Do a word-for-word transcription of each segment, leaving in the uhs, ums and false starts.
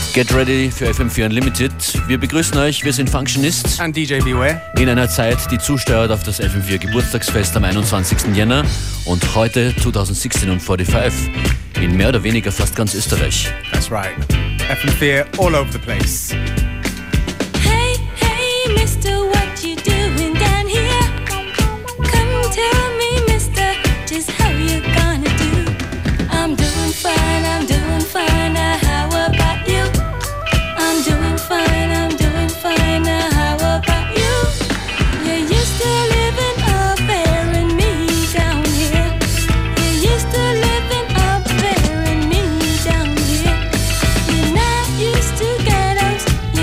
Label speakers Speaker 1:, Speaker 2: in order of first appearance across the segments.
Speaker 1: Get ready für F M vier Unlimited. Wir begrüßen euch, wir sind Functionist.
Speaker 2: And D J Beware.
Speaker 1: In einer Zeit, die zusteuert auf das F M vier Geburtstagsfest am einundzwanzigsten Jänner und heute zweitausendsechzehn und fünfundvierzig in mehr oder weniger fast ganz Österreich.
Speaker 2: That's right. F M vier all over the place.
Speaker 3: Hey, hey, Mister, what you doing down here? Come tell me, Mister, just how you gonna do? I'm doing fine, I'm doing fine, now how about you? I'm doing fine, I'm doing fine, now how about you? You used to living up there and me down here. You used to living up there and me down here. You're not used to ghettos,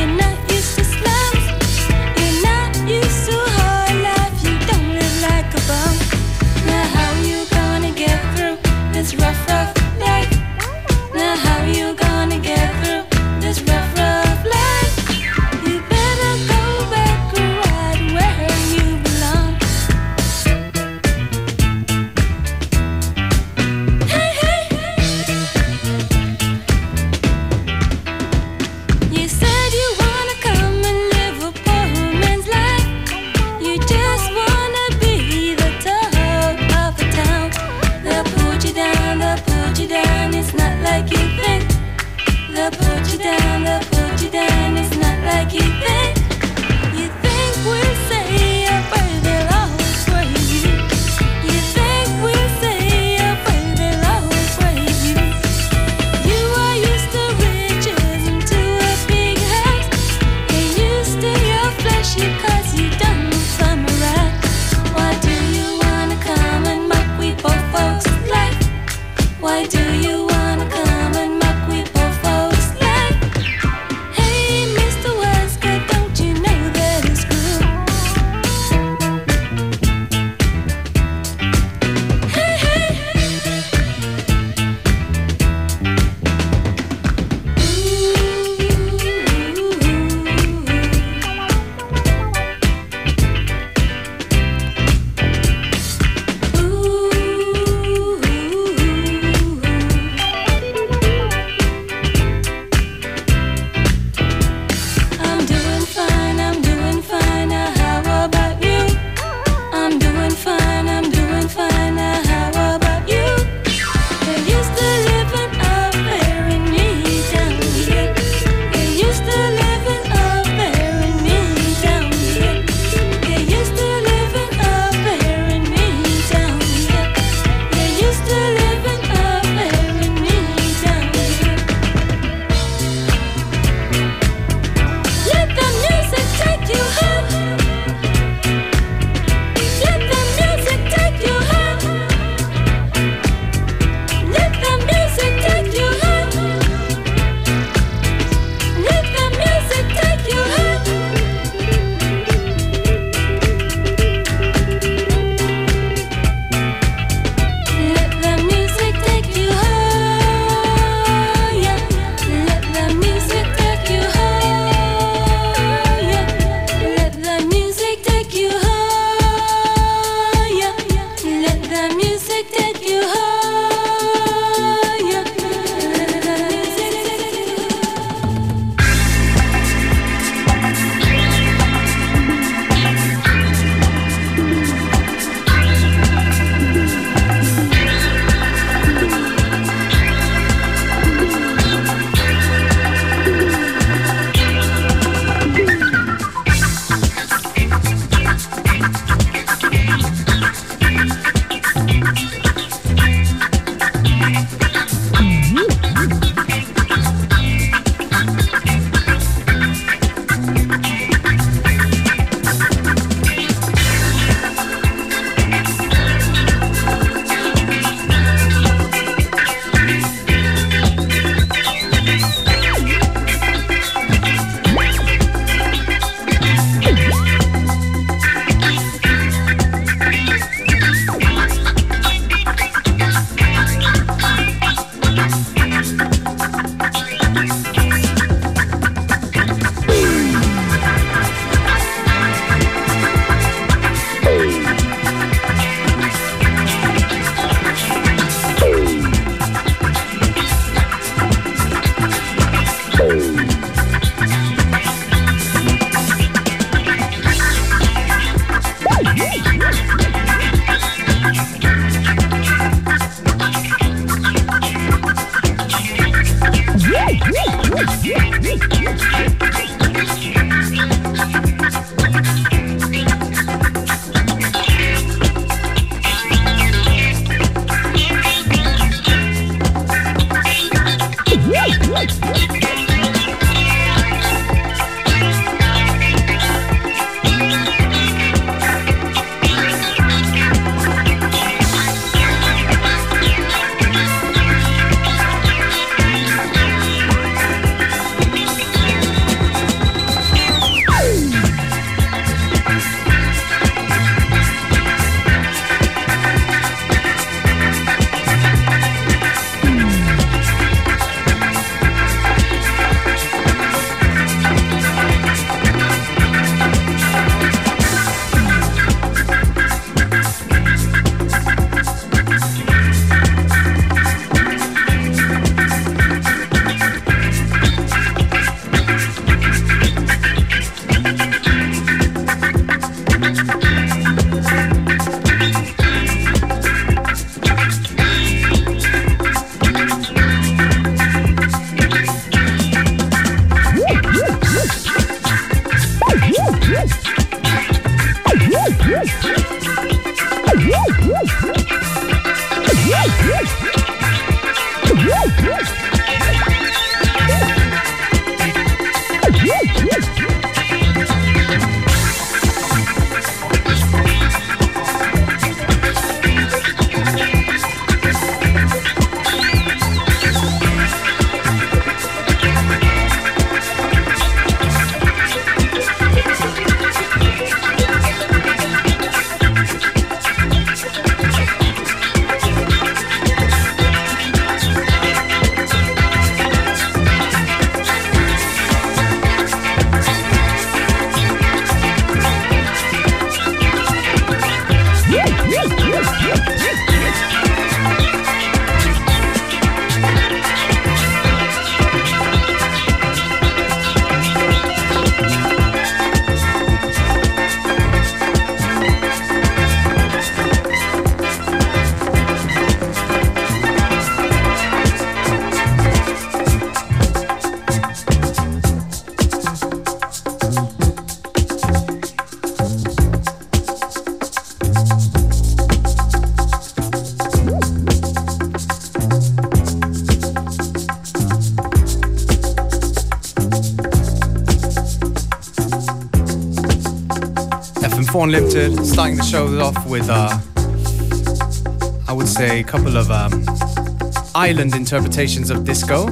Speaker 2: F M four Unlimited, starting the show off with, uh, I would say, a couple of um, island interpretations of disco.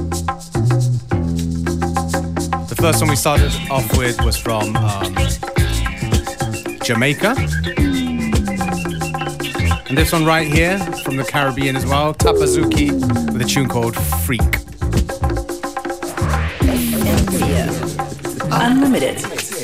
Speaker 2: The first one we started off with was from um, Jamaica. And this one right here, from the Caribbean as well, Tapazuki, with a tune called Freak.
Speaker 4: Unlimited.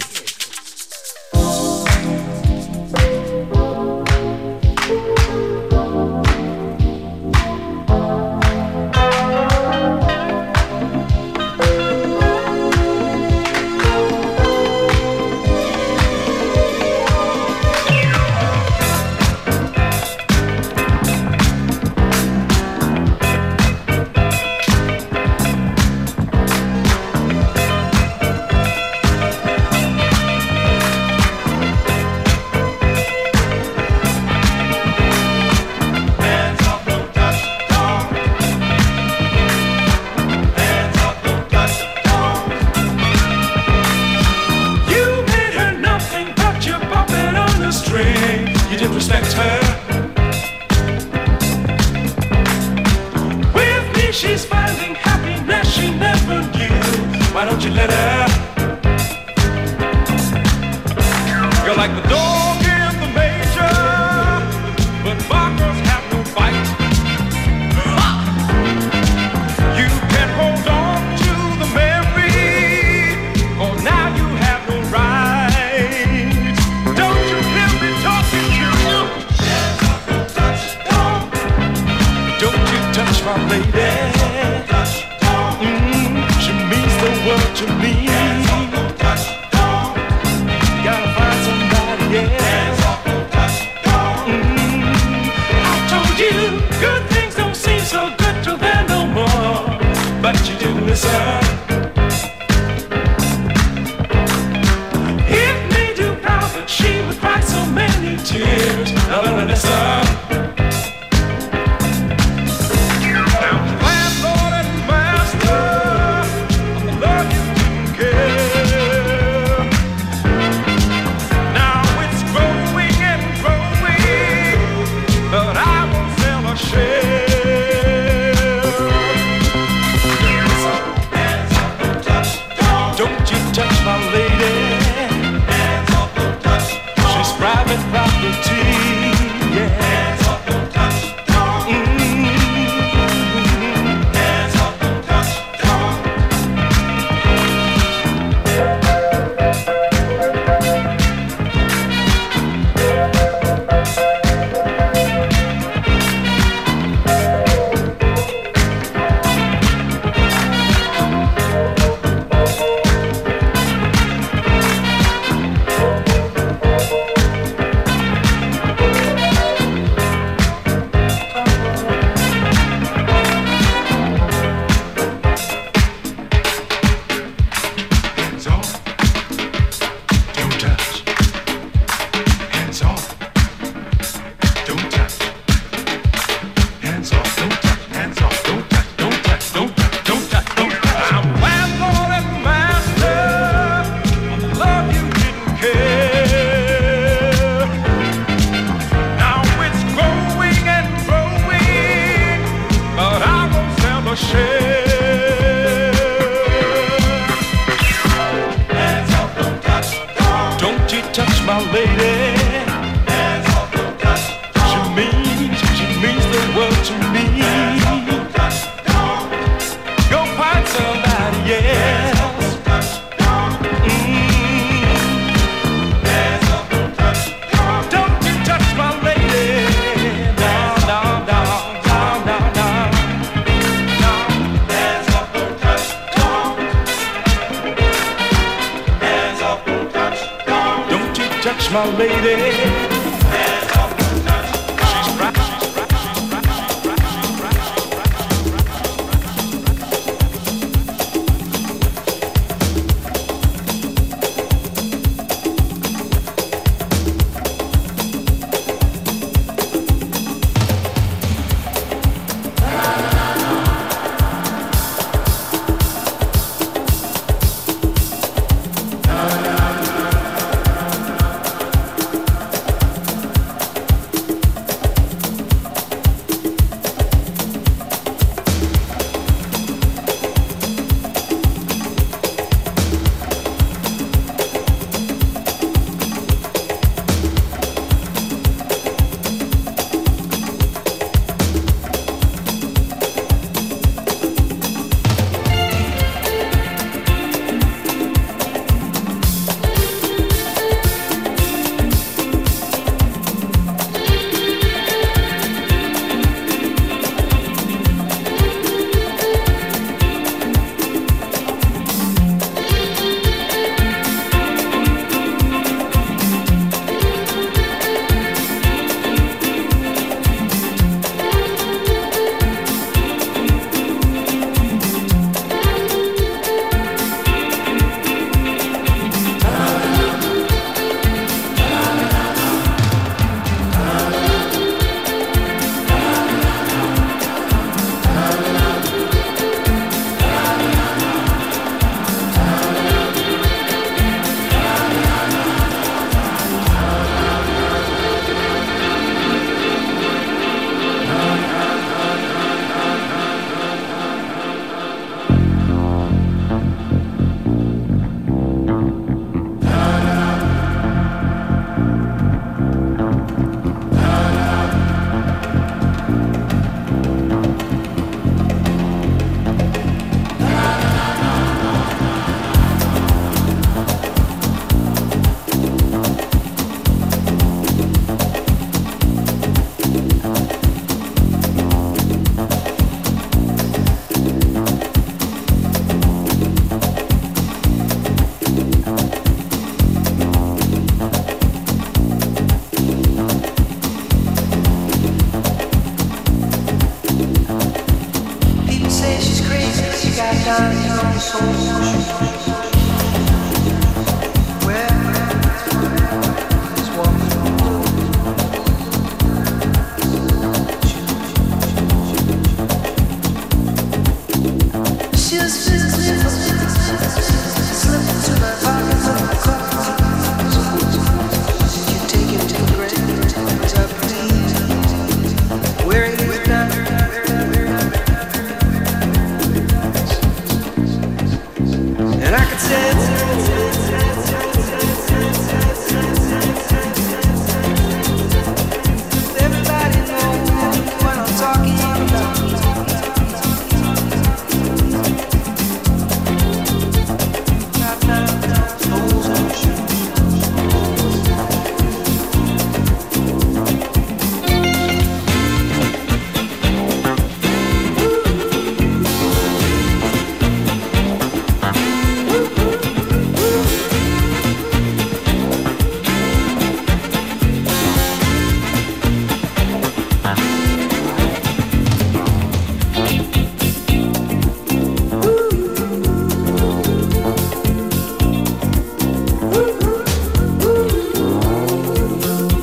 Speaker 5: My lady.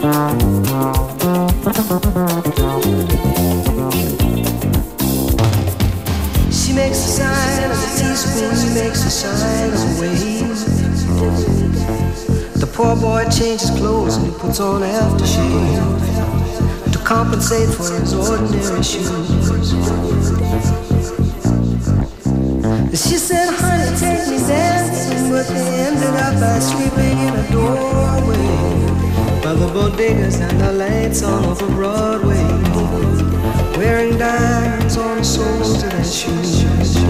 Speaker 4: She makes the sign of a teaspoon, he makes the sign of a wave. The poor boy changes clothes and he puts on aftershave to compensate for his ordinary shoes. She said, honey, take me dancing, but they ended up by sleeping in a doorway by the bodegas and the lights on over Broadway, wearing diamonds on the soles of their shoes.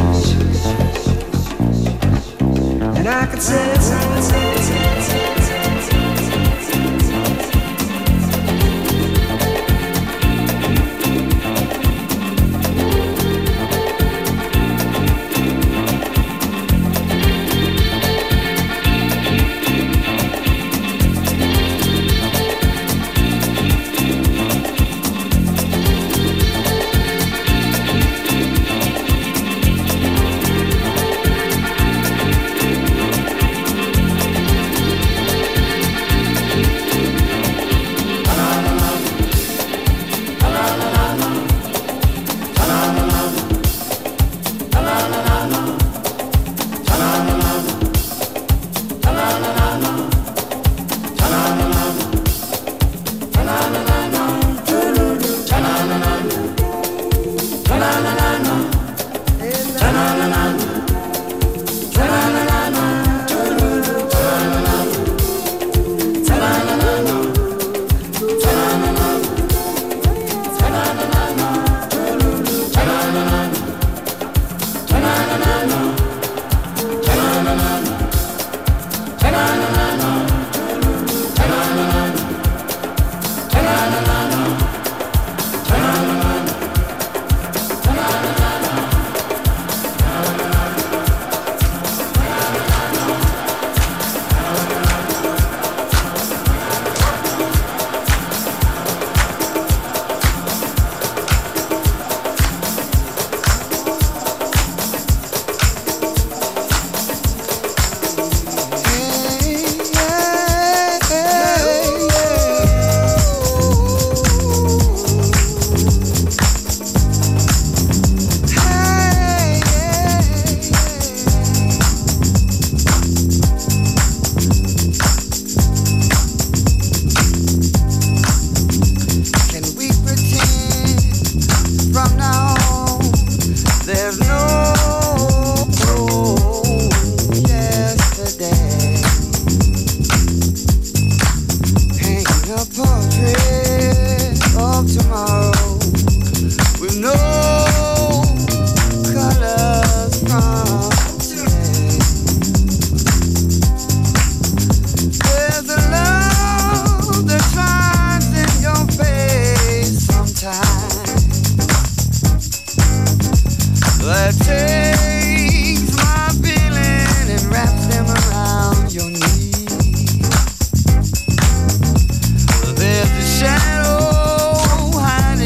Speaker 4: And I could say, say, say, say, say.
Speaker 5: There's a shadow hiding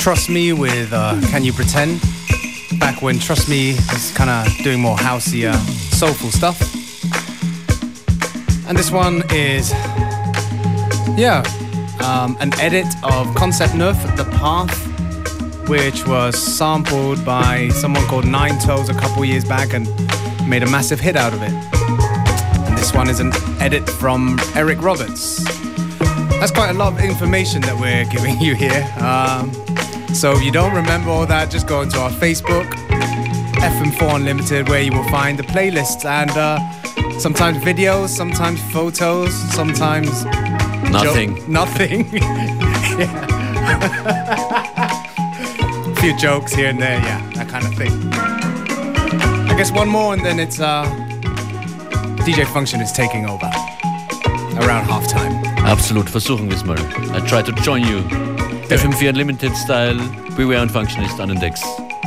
Speaker 2: Trust Me with uh, Can You Pretend? Back when Trust Me was kind of doing more housey, uh, soulful stuff. And this one is, yeah, um, an edit of Concept Neuf, The Path, which was sampled by someone called Nine Toes a couple years back and made a massive hit out of it. And this one is an edit from Eric Roberts. That's quite a lot of information that we're giving you here. Um, so if you don't remember all that, just go into our Facebook, F M four Unlimited, where you will find the playlists and uh, sometimes videos, sometimes photos, sometimes
Speaker 1: nothing.
Speaker 2: Jo- nothing. Yeah. A few jokes here and there, yeah, that kind of thing. I guess one more and then it's uh, D J Function is taking over around halftime.
Speaker 1: Absolut, versuchen wir es mal. I try to join you. F M four Unlimited Style, Beware und Functionist an den Decks.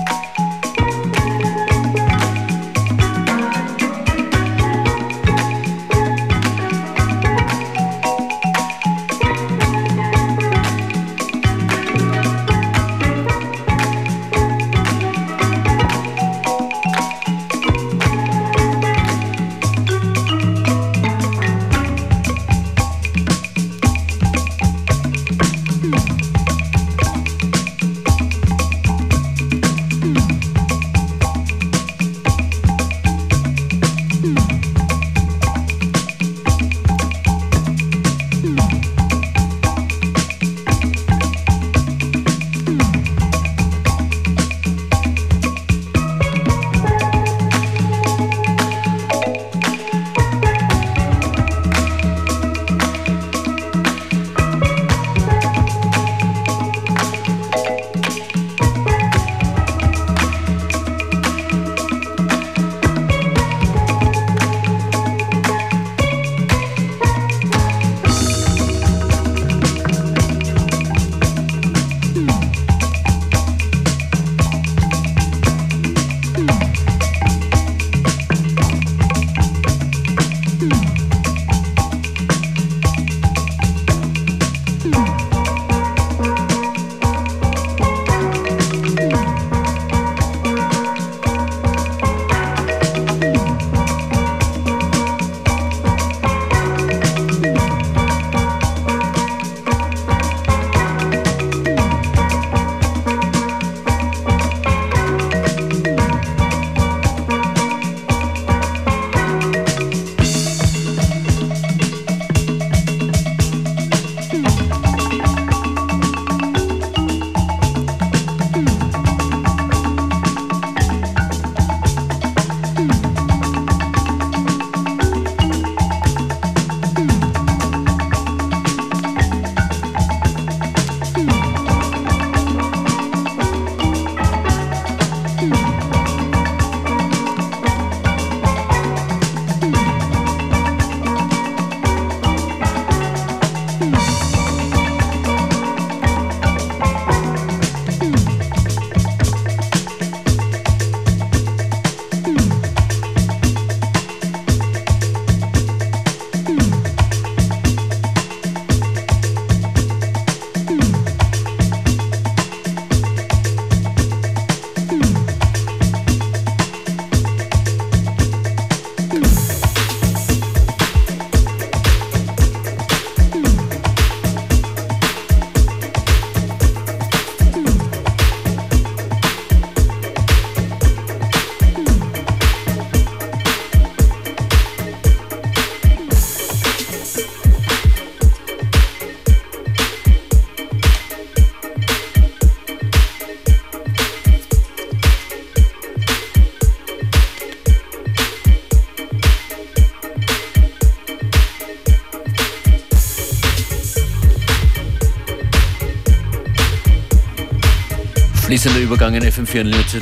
Speaker 1: Fließender Übergang in F M four Unlimited.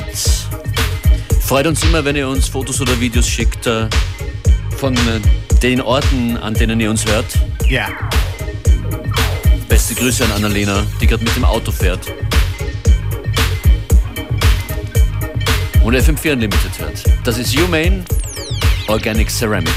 Speaker 1: Freut uns immer, wenn ihr uns Fotos oder Videos schickt äh, von äh, den Orten, an denen ihr uns hört.
Speaker 2: Ja. Yeah.
Speaker 1: Beste Grüße an Annalena, die gerade mit dem Auto fährt. Und F M four Unlimited hört. Das ist Humane Organic Ceramic.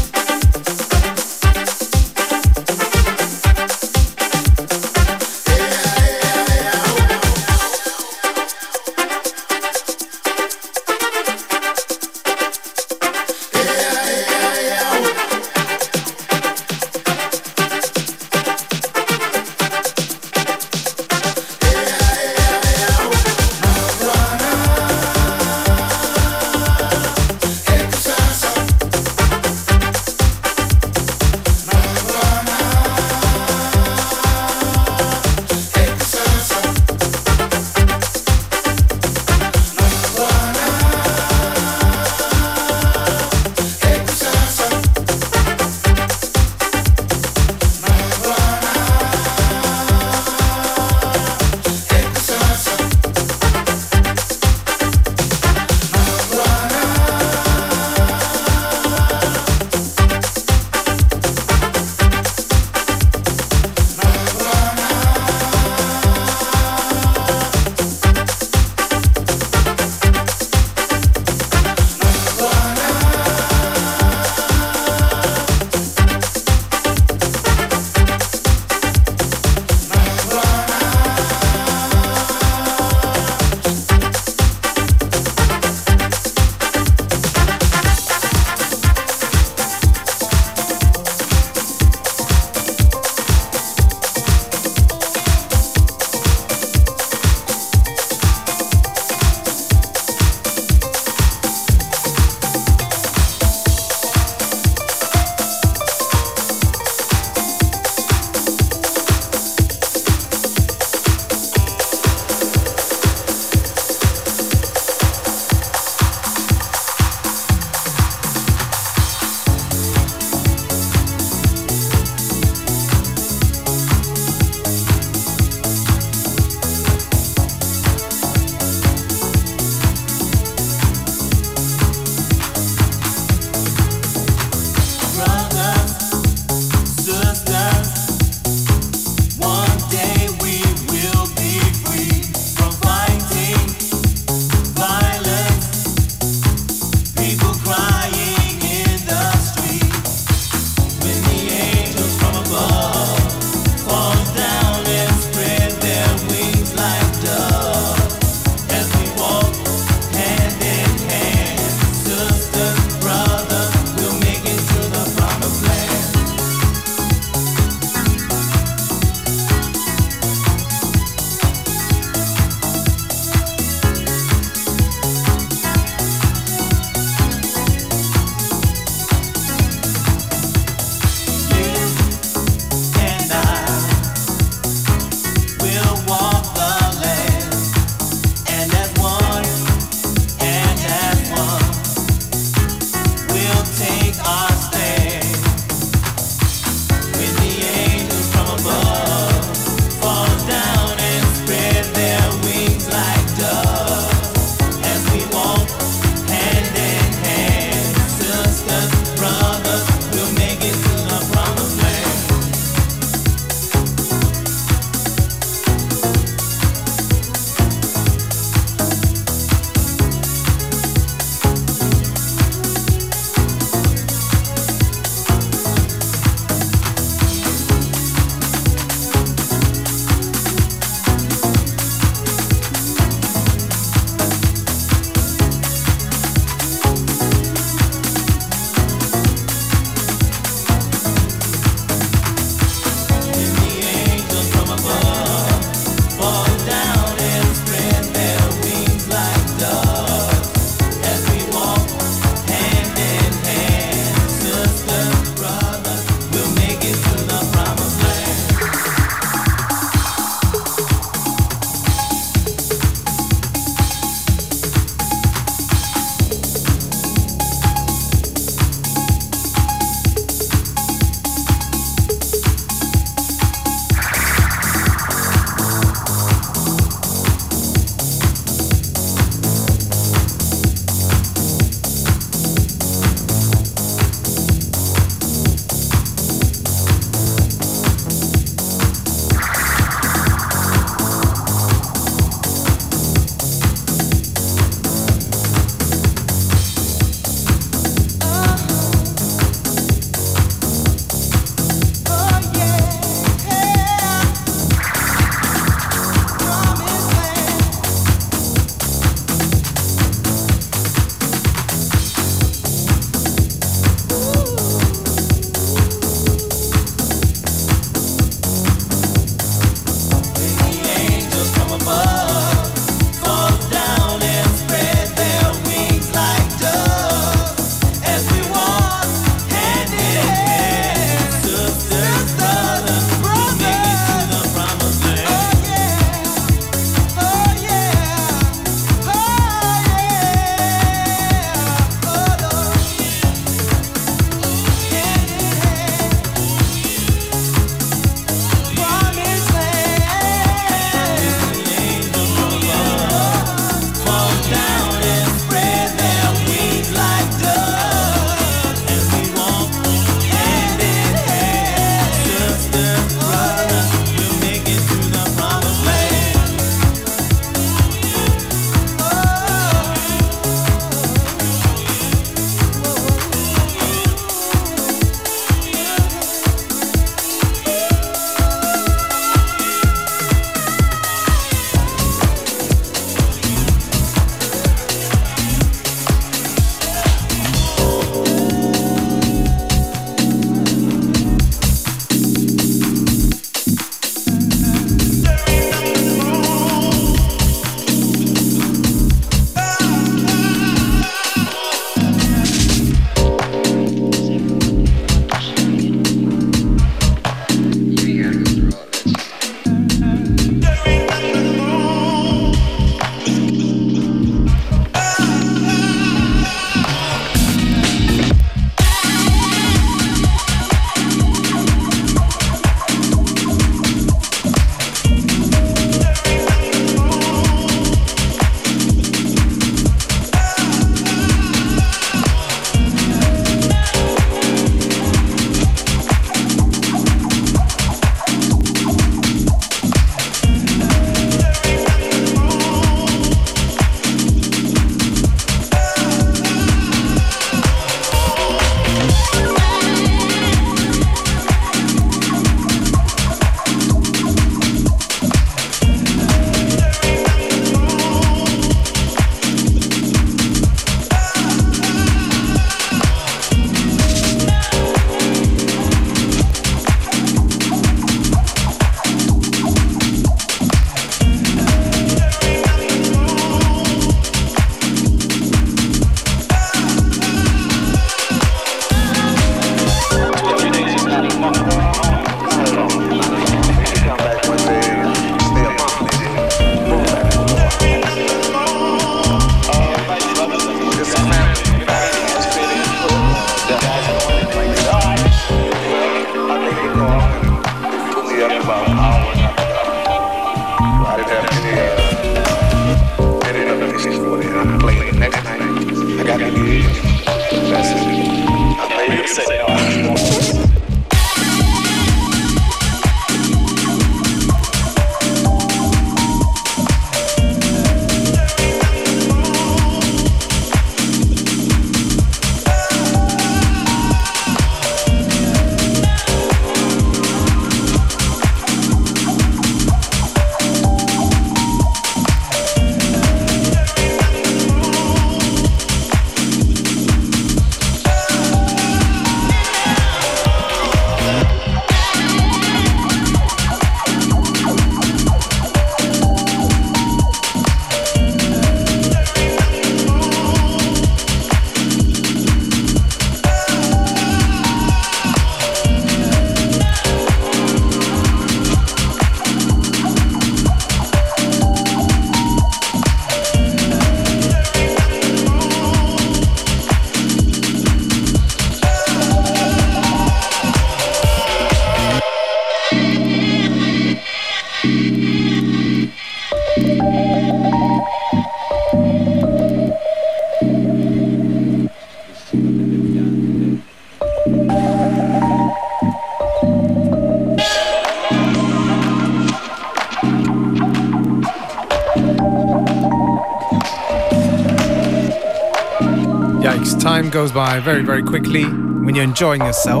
Speaker 2: time goes by very, very quickly when you're enjoying yourself.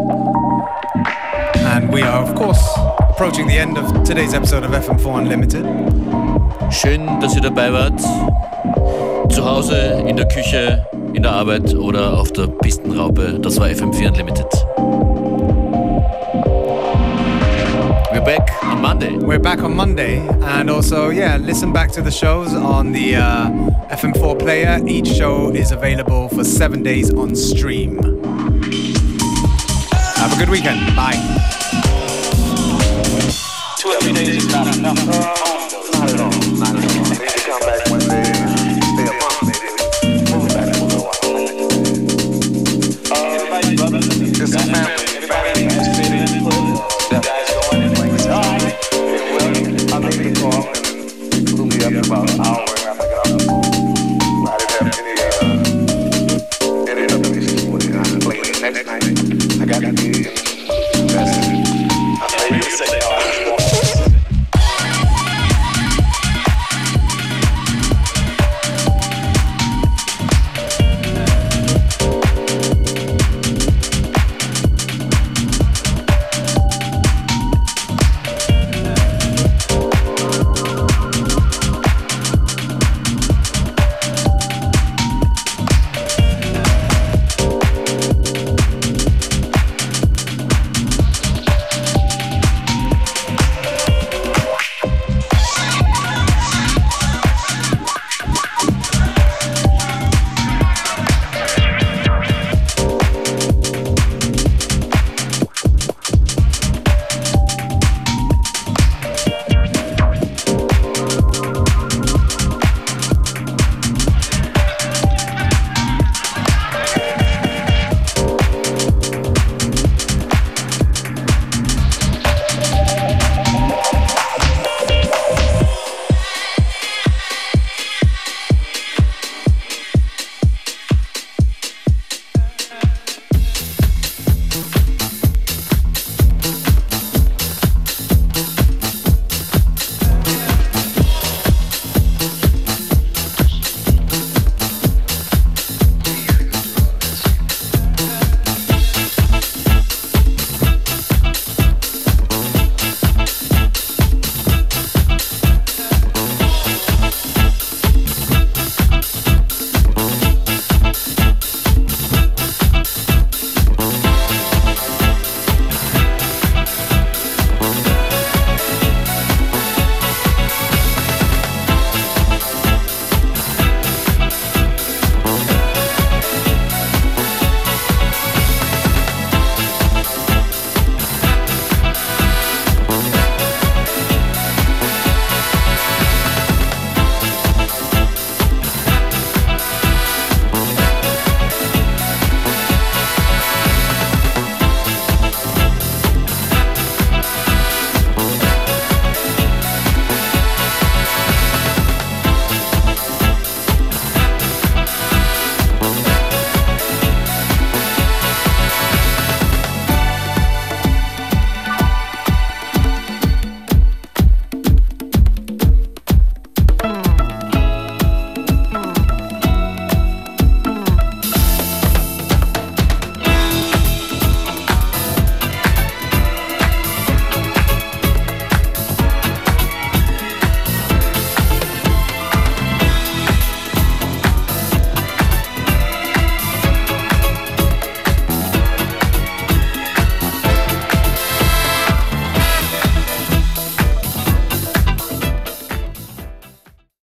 Speaker 2: And we are, of course, approaching the end of today's episode of F M four Unlimited.
Speaker 1: Schön, dass ihr dabei wart. Zu Hause, in der Küche, in der Arbeit oder auf der Pistenraupe. Das war F M four Unlimited. We're back on Monday.
Speaker 2: We're back on Monday. And also, yeah, listen back to the shows on the uh, F M four player. Each show is available for seven days on stream. Have a good weekend. Bye.
Speaker 5: Two or three days is not enough. Not at all. Not at all. Maybe come back one day and stay a month, maybe. Move back for a little while. Uh, everybody, brothers, it's a family. Everybody participated in the guys going and like, all right. Well, I'll make a call and flew me up in about an hour after I got off the phone. I didn't have any, uh, any other issues with it. I played it next night. I got the gig. That's it. I played it.